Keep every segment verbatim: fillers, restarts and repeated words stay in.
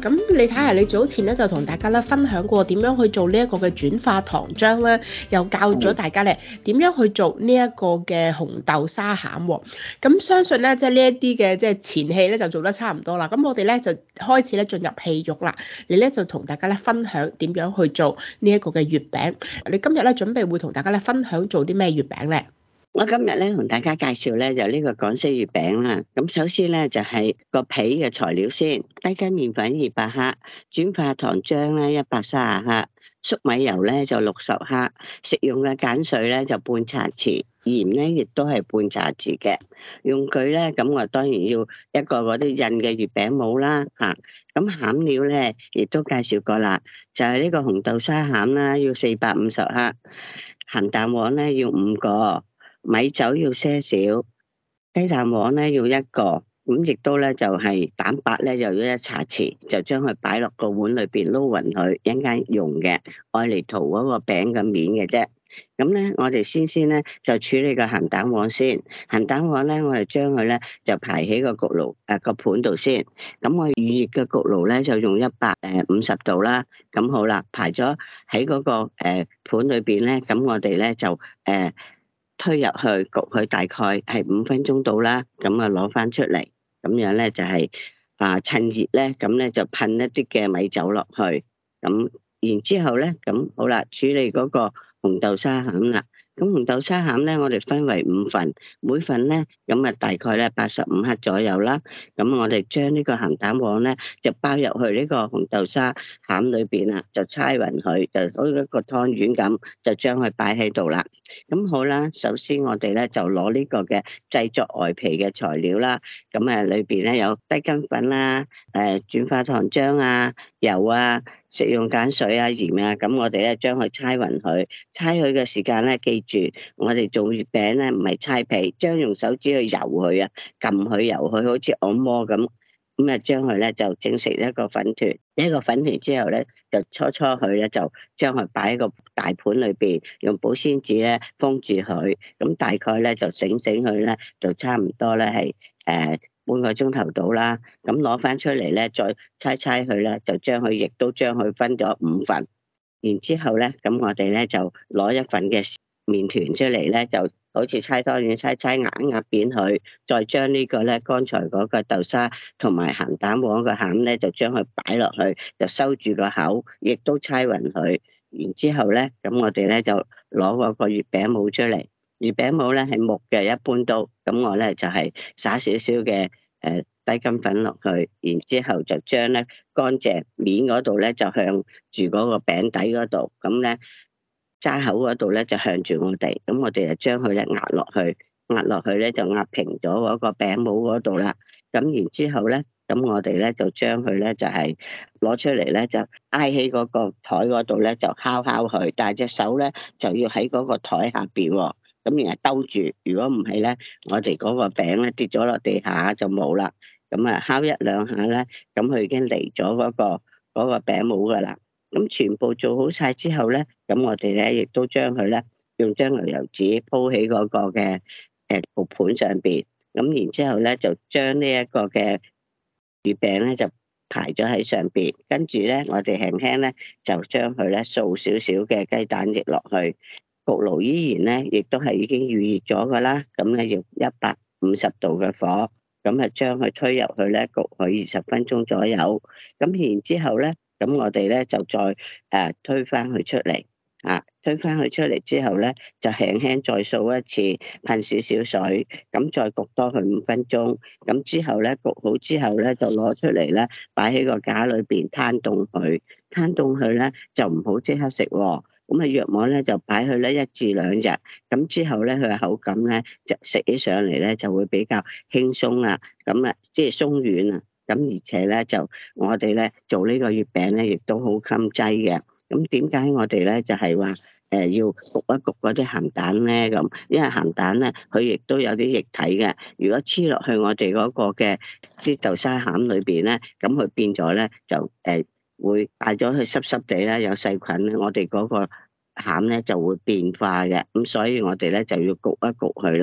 咁你睇下，你早前咧就同大家咧分享過點樣去做呢一個嘅轉化糖漿啦，又教咗大家咧點樣去做呢一個嘅紅豆沙餡喎。咁相信咧，即係呢一啲嘅即係前戲咧就做得差唔多啦。咁我哋咧就開始咧進入戲肉啦。你咧就同大家咧分享點樣去做呢一個嘅月餅。你今日咧準備會同大家咧分享做啲咩月餅咧？ 我今日咧同大家介紹咧就呢個港式月餅啦。咁首先咧就係個皮嘅材料先，低筋麵粉二百克，轉化糖漿咧一百三十克，粟米油咧就六十克，食用嘅鹼水咧就半茶匙，鹽咧亦都係半茶匙嘅。用具咧咁我當然要一個嗰啲印嘅月餅模啦吓。咁餡料咧亦都介紹過啦，就係呢個紅豆沙餡啦，要四百五十克，鹹蛋黃咧要五個。米酒要些少，雞蛋黃咧要一個，咁亦都咧就係蛋白咧又要一茶匙，就將佢擺落個碗裏邊撈勻佢，一陣間用嘅，愛嚟塗嗰個餅嘅面嘅啫。咁咧我哋先先咧就處理個鹹蛋黃先，鹹蛋黃咧我哋將佢咧就排喺個焗爐誒個盤度先。咁我預熱嘅焗爐咧就用一百誒五十度啦。咁好啦，排咗喺嗰個誒盤裏邊咧，咁我哋咧就誒。呃推入去焗佢大概係五分鐘到啦，咁啊攞翻出嚟，咁樣咧就係、是、啊趁熱咧，咁咧就噴一啲嘅米酒落去，咁然之後咧，咁好啦，處理嗰個紅豆沙餡啦。咁紅豆沙餡咧，我哋分為五份，每份咧咁啊大概咧八十五克左右啦。咁我哋將呢個鹹蛋黃咧就包入去呢個紅豆沙餡裏邊啦，就搓勻佢，就好似一個湯圓咁，就將佢擺喺度啦。咁好啦，首先我哋咧就攞呢個嘅製作外皮嘅材料啦。咁啊裏邊咧有低筋粉啦、誒轉化糖漿啊、油啊、食用鹼水啊、鹽啊。咁我哋咧將佢搓勻佢，搓佢嘅時間咧記住，我哋做月餅咧唔係搓皮，將用手指去揉佢啊，撳佢揉佢，好似按摩咁。咁啊，將佢咧就整成一個粉團，一個粉團之後咧就搓搓佢咧，就將佢擺喺個大盤裏邊，用保鮮紙咧封住佢。咁大概咧就醒醒佢咧，就差唔多咧係誒半個鐘頭到啦。咁攞翻出嚟咧，再搓搓佢咧，就將佢亦都將佢分咗五份。然之後咧，咁我哋咧就攞一份嘅麵團出嚟咧，就好似搓湯圓搓搓壓壓扁佢，再將呢個咧剛才嗰個豆沙同埋鹹蛋黃個餡咧，就將佢擺落去，就收住個口，亦都搓勻佢。然之後咧，咁我哋咧就攞嗰個月餅模出嚟，月餅模咧係木嘅，一般都，咁我咧就係撒少少嘅誒低筋粉落去，然之後就將咧乾淨面嗰度咧就向住嗰個餅底嗰度，咁咧揸口嗰度咧就向住我哋，咁我哋就將佢咧壓落去，壓落去咧就壓平咗嗰個餅模嗰度啦。咁然之後咧，咁我哋咧就將佢咧就係攞出嚟咧，就挨喺嗰個台嗰度咧就敲敲佢，但係隻手咧就要喺嗰個台下邊喎。咁然後兜住，如果唔係咧，我哋嗰個餅咧跌咗落地下就冇啦。咁啊，敲一兩下咧，咁佢已經離咗嗰個嗰個餅模噶啦。咁全部做好晒之後咧，咁我哋咧亦都將佢咧用張牛油紙鋪喺嗰個嘅誒焗盤上邊。咁然之後咧就將呢一個嘅月餅咧就排咗喺上邊，跟住咧我哋輕輕咧就將佢咧掃少少嘅雞蛋液落去。焗爐依然咧，亦都係已經預熱咗噶啦，咁咧要一百五十度嘅火，咁啊將佢推入去咧焗佢二十分鐘左右，咁然之後咧，咁我哋咧就再誒、呃、推翻佢出嚟，啊推翻佢出嚟之後咧，就輕輕再掃一次，噴少少水，咁再焗多佢五分鐘，咁之後咧焗好之後咧就攞出嚟咧，擺喺個架裏邊攤凍佢，攤凍佢咧就唔好即刻食喎。咁啊，約莫咧就擺去咧一至兩日，咁之後咧佢嘅口感咧就食起上嚟咧就會比較輕鬆啊，咁啊即係鬆軟啊，咁而且咧就我哋咧做呢個月餅咧亦都好襟劑嘅。咁點解我哋咧就係話誒要焗一焗嗰啲鹹蛋咧咁？因為鹹蛋咧佢亦都有啲液體嘅，如果黐落去我哋嗰個嘅啲豆沙餡裏邊咧，咁佢變咗咧就誒。呃會帶咗去濕濕地啦，有細菌咧，我哋嗰個餡咧就會變化嘅，咁所以我哋咧就要焗一焗佢啦。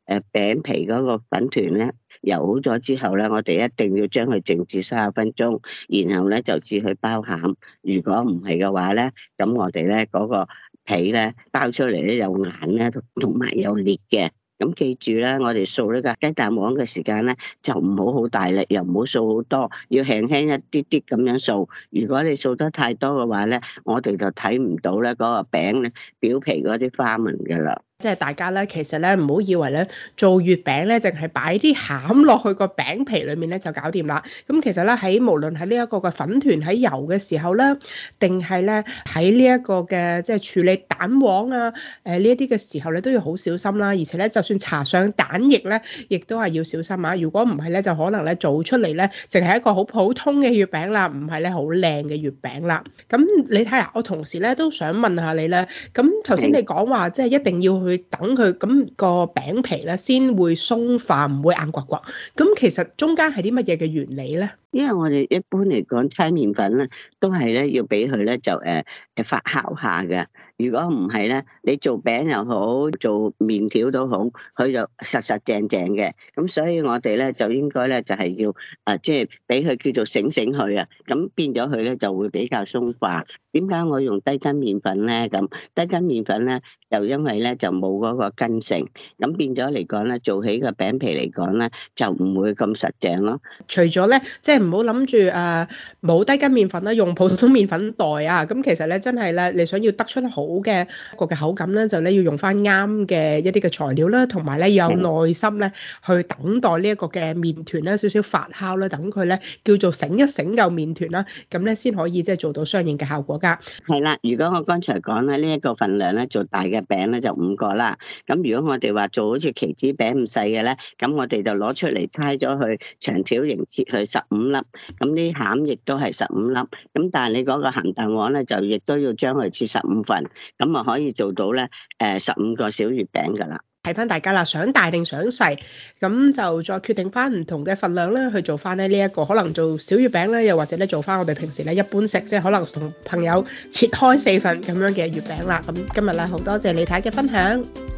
誒餅皮嗰個粉團咧揉好咗之後咧，我哋一定要將佢靜置三十分鐘，然後咧就至去包餡。如果唔係嘅話咧，咁我哋咧嗰個皮咧包出嚟咧有硬咧，同埋有裂嘅。咁記住咧，我哋掃呢個雞蛋黃嘅時間咧，就唔好好大力，又唔好掃好多，要輕輕一啲啲咁樣掃。如果你掃得太多嘅話咧，我哋就睇唔到咧嗰個餅咧表皮嗰啲花紋㗎啦。 即係大家咧，其實咧唔好以為咧做月餅咧，淨係擺啲餡落去個餅皮裡面咧就搞掂啦。咁其實咧喺無論喺呢一個嘅粉團喺油嘅時候咧，定係咧喺呢一個嘅即係處理蛋黃啊，誒呢一啲嘅時候咧都要好小心啦。而且咧就算搽上蛋液咧，亦都係要小心啊。如果唔係咧，就可能咧做出嚟咧淨係一個好普通嘅月餅啦，唔係咧好靚嘅月餅啦。咁你睇下，我同時咧都想問下你咧，咁頭先你講話即係一定要去等佢咁個餅皮咧先會鬆化，唔會硬刮刮。咁其實中間係啲乜嘢嘅原理咧？ 因為我哋一般嚟講，搓麵粉咧都係咧要俾佢咧就誒誒發酵下嘅。如果唔係咧，你做餅又好，做麵條都好，佢就實實淨淨嘅。咁所以我哋咧就應該咧就係要誒即係俾佢叫做醒醒佢啊。咁變咗佢咧就會比較鬆化。點解我用低筋麵粉咧？咁低筋麵粉咧就因為咧就冇嗰個筋性，咁變咗嚟講咧做起個餅皮嚟講咧就唔會咁實淨咯。 除咗咧即係唔好諗住誒冇低筋麵粉啦，用普通麵粉袋啊。咁其實咧真係咧，你想要得出好嘅一個嘅口感咧，就咧要用翻啱嘅一啲嘅材料啦，同埋咧要有耐心咧去等待呢一個嘅麵團咧少少發酵啦，等佢咧叫做醒一醒嚿麵團啦，咁咧先可以即係做到相應嘅效果㗎。 係啦，如果我剛才講咧呢一個份量咧做大嘅餅咧就五個啦。咁如果我哋話做好似棋子餅咁細嘅咧，咁我哋就攞出嚟猜咗佢長條形切去十五粒。咁啲餡亦都係十五粒。咁但係你嗰個鹹蛋黃咧就亦都要將佢切十五份，咁啊可以做到咧誒十五個小月餅㗎啦。 睇翻大家啦，想大定想細，咁就再決定翻唔同嘅份量咧，去做翻咧呢一個可能做小月餅咧，又或者咧做翻我哋平時咧一般食，即係可能同朋友切開四份咁樣嘅月餅啦。咁今日咧好多謝李太嘅分享。